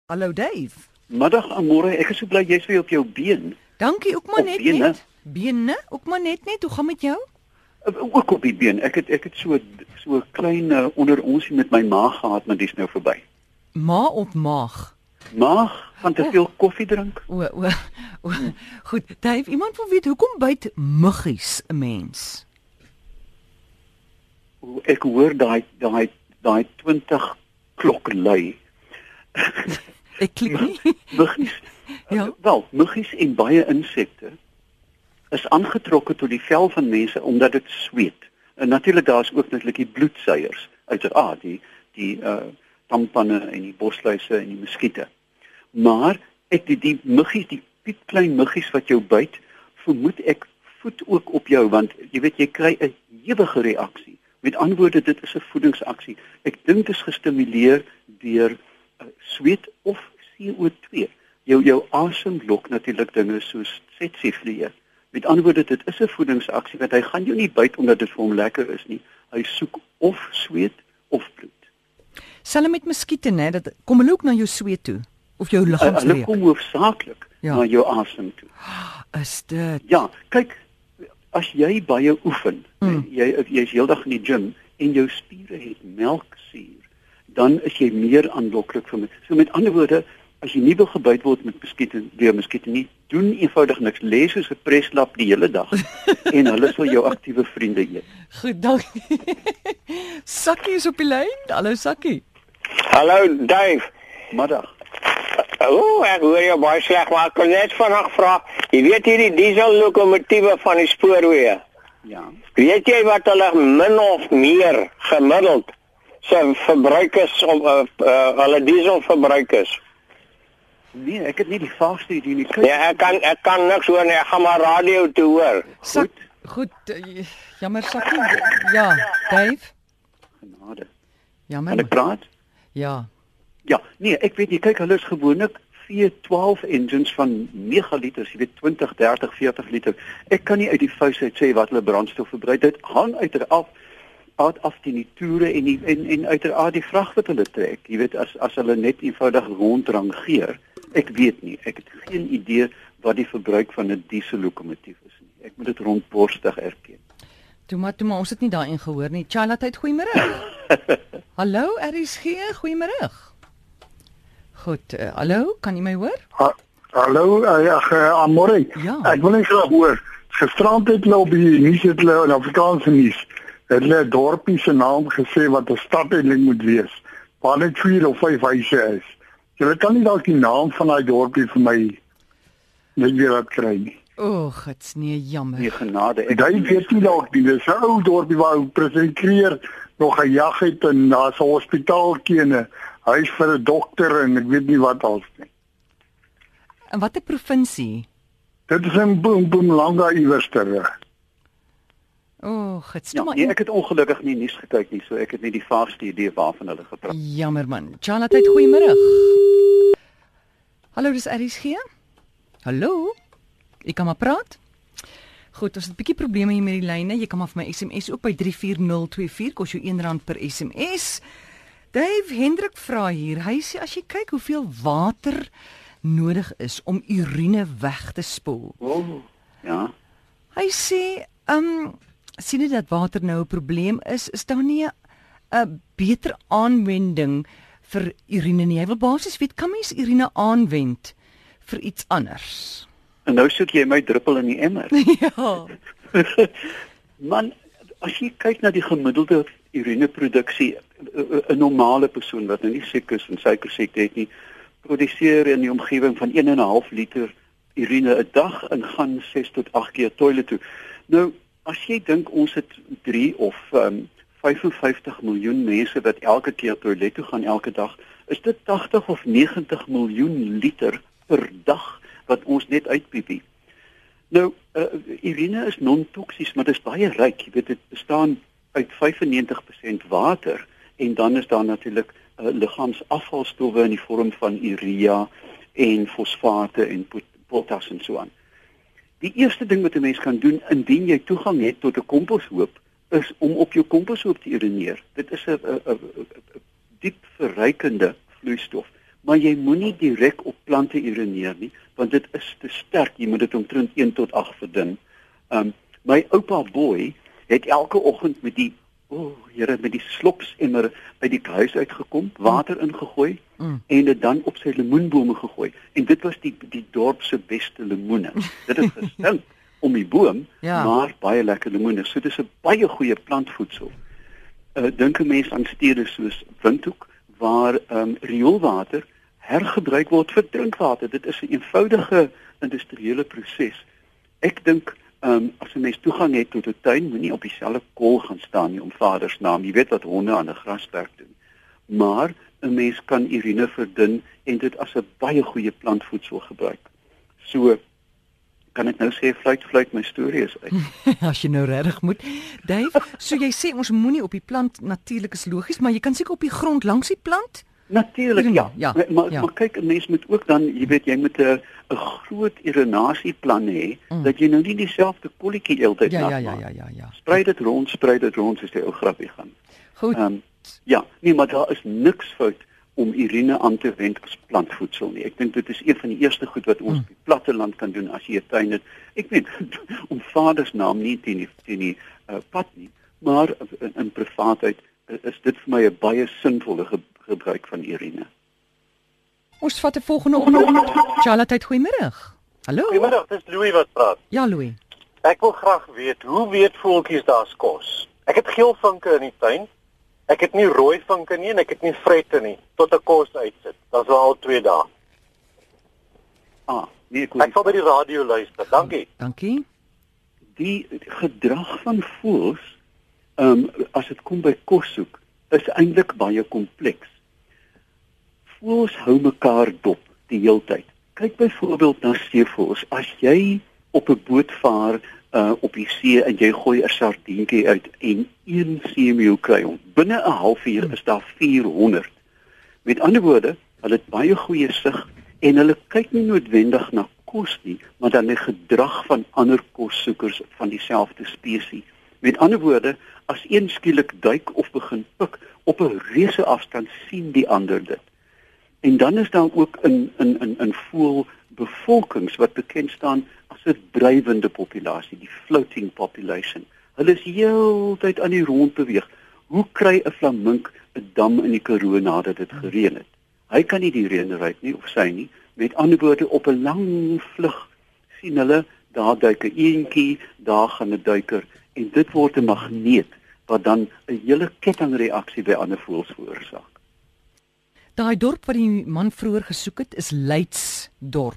Hallo Dave. Middag Amore, ek is so bly jy's weer op jou been. Dankie, ook maar Op net bene? net. Bene, ook maar net. Hoe gaan met jou? Ook op die been. Ek het so 'n klein onder onsie met my maag gehad, maar dis nou verby. Ma op maag. Maag van te veel koffie drink. O. Goed, Dave, iemand wil weet hoekom byt muggies 'n mens? Ek hoor daai 20 klok lui. Ek klik nie. Muggies. Ja. Wel, muggies en baie insekte is aangetrokke tot die vel van mense omdat dit sweet. En natuurlik daar's ook natuurlik die bloedseiers, uiteraard die tampanne en die bosluise en die muskiete. Maar die muggies, die piepklein muggies wat jou byt, vermoed ek voed ook op jou want jy weet jy kry 'n ewige reaksie. Met ander woorde, dit is 'n voedingsaksie. Ek dink dit is gestimuleer deur sweet of CO2. Jou asem lok natuurlik dinge soos tsetseflië. Met ander woorde, dit is 'n voedingsaksie want hy gaan jou nie byt omdat dit vir hom lekker is nie. Hy soek of sweet of bloed. Selfs met muskiete, né, dat kom hulle ook na jou sweet toe of jou Hulle liggaamsreuk. kom hoofsaaklik na jou asem toe. Is dit? Ja, kyk, as jy baie oefen, jy's heeldag in die gym en jou spiere het melksuur, dan is jy meer aanloklik vir my. So met ander woorde, as jy nie wil gebyt word met muskiete nie, doen eenvoudig niks. Lê soos 'n preslap die hele dag en hulle sal jou aktiewe vriende eet. Goed, dankie. Sakkie is op die lyn. Hallo Sakkie. Hallo Dave. Middag. Ek hoor jou baie sleg, maar ek kon net vanaand vra. Jy weet hierdie diesellokomotiewe van die spoorweë. Ja. Weet jy wat hulle min of meer gemiddeld se verbruik is om hulle dieselverbruik is? Nee, ek het nie die vaagste idee nie. Kyk, Ja, ek kan niks hoor nie. Ek gaan maar radio toe hoor. Goed, jammer Sakkie. Ja, Dave. genade. Jammer. Kan ek praat? Ja. Ja, nee, ek weet jy kyk hulle is gewoonlik V12 engines van megaliters, jy weet 20, 30, 40 liter. Ek kan nie uit die vuis uit sê wat hulle brandstof verbruik. Dit hang uiteraard af die toere en uiteraard die vrag wat hulle trek. Jy weet as hulle net eenvoudig rondrangeer. Ek weet nie. Ek het geen idee wat die verbruik van 'n diesellokomotief is nie. Ek moet dit rondborstig erken. Toe maar, ons het nie daarin gehoor nie. Charlotte, tyd goeiemôre. Hallo, RSG, goeiemôre. Goed, hallo, kan jy my hoor? Hallo, Amore. Ja. Ek wil net graag hoor. Gisterand het hulle op die nuus het hulle in Afrikaanse nuus het hulle 'n dorpie se naam gesê wat 'n stadeling moet wees. Waar net 4 of 5 huise is. Jy kan nie dalk die naam van daai dorpie vir my net weer laat kry nie. Gits, nee, jammer. Nee, genade. Jy weet nie dalk nie, dis 'n ou dorpie waar ou president Kreer nog gejag het en daar's 'n hospitaaltjie en 'n huis vir 'n dokter en ek weet nie wat als nie. En watter provinsie? Dit is in Mpumalanga iewers ter. Gits, Ja, maar nee, ek het ongelukkig nie nuus gekyk nie, so ek het nie die vaagste idee waarvan hulle gepraat. jammer man. Charlotte, tyd goeiemôre. Hallo, dis RSG. Hallo. Ek kan maar praat. Goed, ons het 'n bietjie probleme hier met die lyne. Jy kan maar vir my SMS ook by 34024 kos jou R1 per SMS. Dave Hendrik vra hier. Hy sê as jy kyk hoeveel water nodig is om urine weg te spoel. Ja. Hy sê, sien jy dat water nou 'n probleem is daar nie 'n beter aanwending vir urine nie. Hy wil basies weet, kan mens urine aanwend vir iets anders? En nou soek jy my druppel in die emmer. Ja. Man, as jy kyk na die gemiddelde urineproduksie, 'n normale persoon wat nou nie siek is en suikersiekte het nie, produseer in die omgewing van 1,5 liter urine 'n dag en gaan 6 tot 8 keer toilet toe. Nou, as jy dink ons het 3 of 55 miljoen mense wat elke keer toilet toe gaan elke dag, is dit 80 of 90 miljoen liter per dag wat ons net uitpiepie. Nou, urine is non-toksies, maar dit is baie ryk. Jy weet, dit bestaan uit 95% water en dan is daar natuurlik liggaamsafvalstowwe in die vorm van urea en fosfate en potas en so aan. Die eerste ding wat 'n mens kan doen indien jy toegang het tot 'n komposhoop is om op jou komposhoop te urineer. Dit is 'n diep verrykende vloeistof. maar jy moenie direk op plante urineer nie, want dit is te sterk. Jy moet dit omtrent 1 tot 8 verdun. My oupa Boy het elke oggend met die met die slopsemmer uit die huis uitgekom, water ingegooi en dit dan op sy lemoenbome gegooi. En dit was die dorp se beste lemoene. Dit is gestink om die boom, maar baie lekker lemoene. So dis 'n baie goeie plantvoedsel. Dink 'n mens aan stede soos Windhoek waar rioolwater hergebruik word vir drinkwater. Dit is 'n eenvoudige industriële proses. Ek dink as 'n mens toegang het tot 'n tuin, moenie op dieselfde kol gaan staan nie om Vader se naam. Jy weet wat honde aan 'n grasperk doen. Maar 'n mens kan urine verdun en dit as 'n baie goeie plantvoedsel gebruik. So kan ek nou sê fluit my storie is uit. As jy nou regtig moet. Dave, so jy sê ons moenie op die plant, natuurlik is logies, maar jy kan seker op die grond langs die plant? Natuurlik, ja. Maar kyk, 'n mens moet ook dan, jy weet, jy moet 'n groot irinasieplan hê dat jy nou nie dieselfde kolletjie heeltyd nat maak. Ja. Sprei dit rond soos die ou grappie gaan. Goed. Nee, maar daar is niks fout om urine aan te wend as plantvoedsel nie. Ek dink dit is een van die eerste goed wat ons op die platteland kan doen as jy 'n tuin het. Ek weet om Vader se naam nie teen die pad nie, maar in privaatheid is dit vir my 'n baie sinvolle gebruik van urine. Ons vat 'n volgende oproep. Charlotte, goeiemôre. Hallo. Goeiemôre, dis Louis wat praat. Ja, Louis. Ek wil graag weet, hoe weet voeltjies daar's kos? Ek het geel vinke in die tuin. Ek het nie rooi vinke nie en ek het nie vrette nie tot 'n kos uitsit. Dat is al 2 dae. Nee, ek sal by die radio luister. Dankie. Die gedrag van voëls, as dit kom by kos soek, is eintlik baie kompleks. Voëls hou mekaar dop die heeltyd. Kyk byvoorbeeld na seevoëls. As jy op 'n boot vaar op die see en jy gooi 'n sardientjie uit en 1 seemeeu kry hom, binne 'n halfuur is daar 400. Met ander woorde, hulle het baie goeie sig en hulle kyk nie noodwendig na kos nie, maar dan die gedrag van ander kossoekers van dieselfde spesies. Met ander woorde, as een skielik duik of begin pik op 'n reuse afstand, sien die ander dit. En dan is daar ook 'n voëlbevolkings wat bekend staan as 'n drywende populasie, die floating population. Hulle is heeltyd aan die rond beweeg. Hoe kry 'n flamink 'n dam in die Karoo nadat dit gereën het? Hy kan nie die reën ry nie of sy nie. Met ander woorde, op 'n lang vlug sien hulle daar duik 'n eentjie, daar gaan 'n duiker en dit word 'n magneet wat dan 'n hele kettingreaksie by ander voëls veroorsaak. Daai dorp wat die man vroeër gesoek het, is Leidsdorp.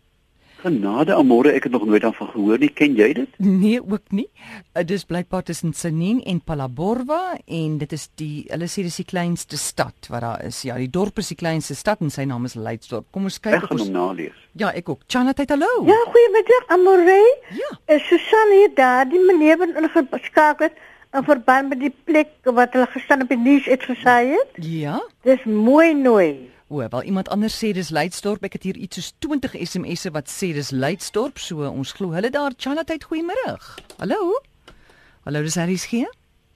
Genade amore, ek het nog nooit daarvan gehoor nie. Ken jy dit? Nee, ook nie. Dit is blykbaar tussen Tsenin en Phalaborwa en dit is hulle sê dis die kleinste stad wat daar is. Ja, die dorp is die kleinste stad en sy naam is Leidsdorp. Kom ons kyk of ons nalees. Ja, ek ook. Chanat, hallo. Ja, goeiemiddag, amore. Ja. Susan hier daar, die meneer wat ingeskakel het in verband met die plek wat hulle gestaan op die nuus uitgesaai het. Ja. Dis mooi. Wel iemand anders sê dis Leidsdorp. Ek het hier iets soos 20 SMS'e wat sê dis Leidsdorp, so ons glo hulle daar. Chanat, goeiemôre. Hallo. Hallo, dis RSG.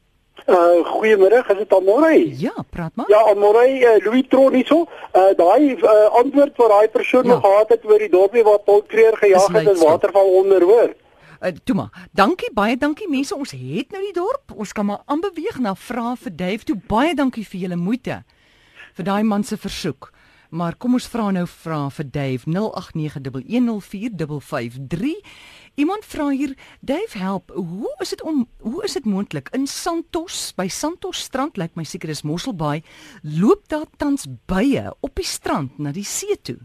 Goeiemôre, is dit Amore? Ja, praat maar. Ja, Amore, Louis Tron hierso. Daai antwoord wat daai persoon nog gehad het oor die dorpie waar Paul Kreer gejaag het in waterval onder, hoor. Toe maar. Dankie, baie dankie mense. Ons het nou die dorp. Ons kan maar aanbeweeg na vra vir Dave. Toe baie dankie vir julle moeite vir daai man se versoek. Maar kom ons vra nou vir Dave 0891104553. Iemand vra hier, Dave, help. Hoe is dit moontlik in Santos, by Santos strand, lyk my seker is Mosselbaai, loop daar tans bye op die strand na die see toe?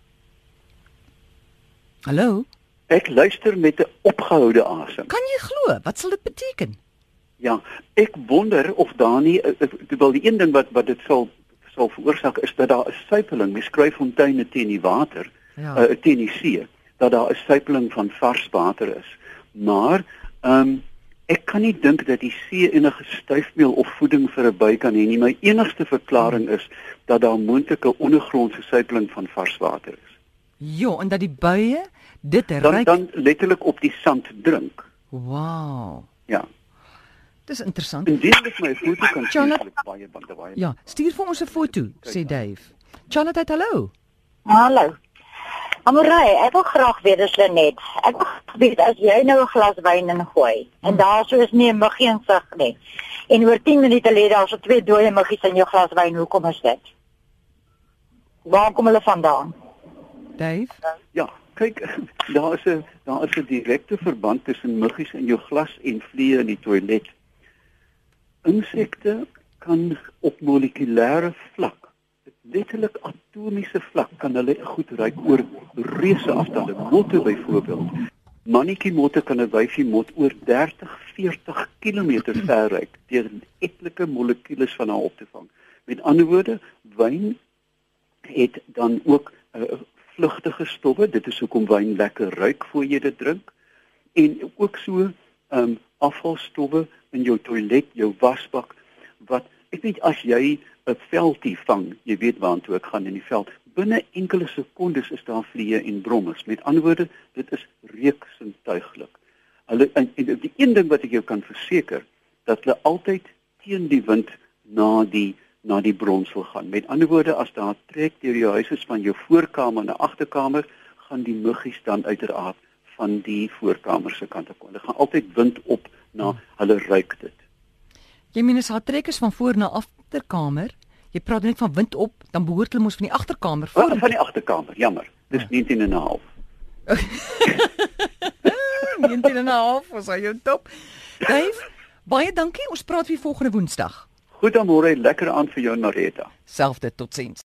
Hallo? Ek luister met 'n opgehoude asem. Kan jy glo? Wat sal dit beteken? Ja, ek wonder of daar nie wel die een ding wat dit sal veroorsaak is dat daar 'n suipeling, mens skryf fonteine teen die water, teen die see, dat daar 'n suipeling van vars water is. Maar ek kan nie dink dat die see enige stuifmeel of voeding vir 'n by kan hê nie. My enigste verklaring is dat daar moontlik 'n ondergrondse suipeling van vars water is. Ja, en dat die bye dit ryk dan letterlik op die sand drink. Wow. Ja. Dis interessant. Indien ek my foto kan stuur, baie. Ja, stuur vir ons 'n foto, sê Dave. Charlotte, hallo. Hallo. Amorey, ek wil graag weet as Lenet. Ek wil weet as jy nou 'n glas wyn ingooi en daar so is nie 'n muggie insig nie. En oor 10 minute lê daar so 2 dooie muggies in jou glas wyn. Hoekom is dit? Waar kom hulle vandaan? Dave? Ja, kyk, daar is 'n direkte verband tussen muggies in jou glas en vliee in die toilet. Insekte kan op molekulêre vlak, letterlik atomiese vlak, kan hulle goed ruik oor reuse afstande. Motte byvoorbeeld. Mannetjie motte kan 'n wyfie mot oor 30-40 km ver ruik deur etlike molekules van haar op te vang. Met ander woorde, wyn het dan ook vlugtige stowwe. Dit is hoekom wyn lekker ruik voor jy dit drink. En ook so afvalstowwe in jou toilet, jou wasbak, wat ek weet as jy 'n veldie vang, jy weet waartoe ek gaan in die veld, binne enkele sekondes is daar vliee en brommers. Met ander woorde, dit is reuksintuiglik. En die een ding wat ek jou kan verseker, dat hulle altyd teen die wind na die bronsel gaan. Met ander woorde, as daar trek deur jou huis is van jou voorkamer na agterkamer, gaan die muggies dan uiteraard van die voorkamer se kant af kom. Hulle gaan altyd wind op na hulle ruik dit. Jy meen as haar trekkers van voor na agterkamer, jy praat net van wind op, dan behoort hulle mos van die agterkamer voor. Van die agterkamer, jammer. Dis 19,5. 19,5 was hy jou top. Dave, baie dankie. Ons praat weer volgende Woensdag. Goed dan môre, lekker aan vir jou Nareta. Selfde, totsiens.